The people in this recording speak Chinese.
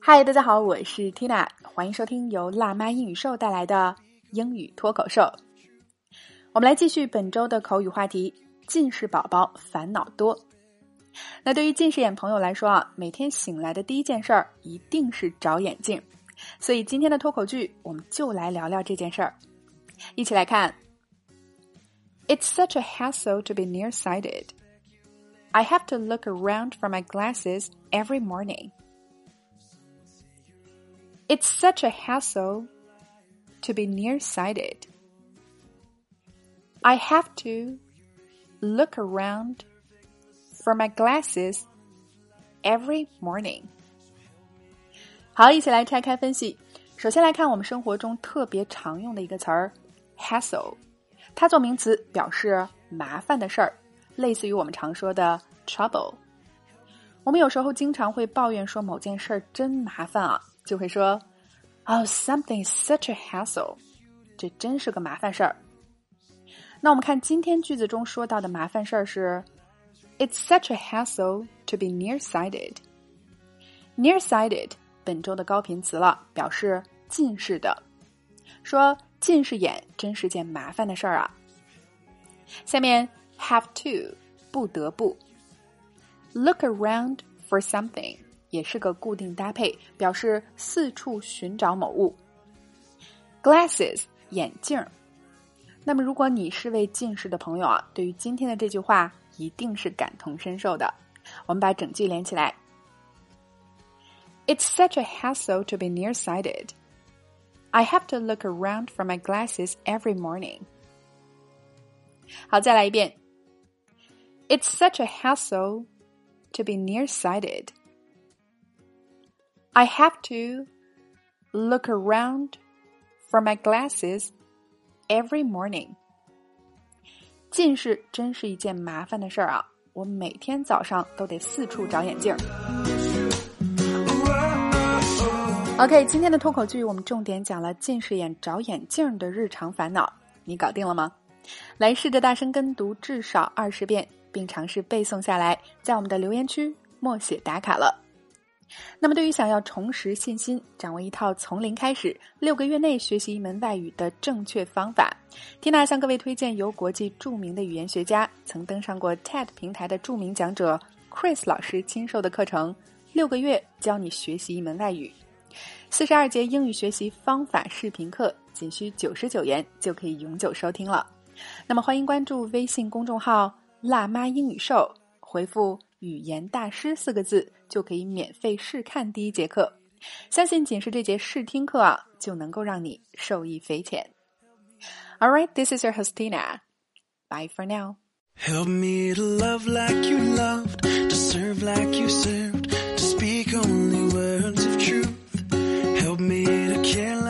嗨，大家好，我是 Tina， 欢迎收听由辣妈英语秀带来的英语脱口秀。我们来继续本周的口语话题，近视宝宝烦恼多。那对于近视眼朋友来说啊，每天醒来的第一件事儿一定是找眼镜，所以今天的脱口剧我们就来聊聊这件事儿。一起来看。It's such a hassle to be nearsighted. I have to look around for my glasses every morning. It's such a hassle to be nearsighted. I have to look around for my glasses every morning. 好，一起来拆开分析。首先来看我们生活中特别常用的一个词儿 hassle， 它做名词表示麻烦的事儿，类似于我们常说的 trouble。 我们有时候经常会抱怨说某件事儿真麻烦啊，就会说 Oh, something is such a hassle. 这真是个麻烦事儿。那我们看今天句子中说到的麻烦事儿是 It's such a hassle to be nearsighted. Nearsighted 本周的高频词了，表示近视的。说近视眼真是件麻烦的事儿啊。下面 have to 不得不 Look around for something 也是个固定搭配，表示四处寻找某物。Glasses 眼镜。那么如果你是位近视的朋友啊，对于今天的这句话一定是感同身受的。我们把整句连起来。It's such a hassle to be nearsighted. I have to look around for my glasses every morning. 好，再来一遍。It's such a hassle to be nearsighted. I have to look around for my glasses every morning. 近视真是一件麻烦的事儿啊，我每天早上都得四处找眼镜。OK， 今天的脱口剧我们重点讲了近视眼找眼镜的日常烦恼，你搞定了吗？来试着大声跟读至少20遍，并尝试背诵下来，在我们的留言区默写打卡了。那么对于想要重拾信心，掌握一套从零开始6个月内学习一门外语的正确方法， Tina 向各位推荐由国际著名的语言学家，曾登上过 TED 平台的著名讲者 Chris 老师亲授的课程，6个月教你学习一门外语，42节英语学习方法视频课，仅需99元就可以永久收听了。那么欢迎关注微信公众号辣妈英语秀，回复语言大师4个字就可以免费试看第一节课，相信仅是这节试听课啊，就能够让你受益匪浅。 Alright, this is your host Tina. Bye for now. Help me to love like you loved, to serve like you served, to speak only words of truth. Help me to care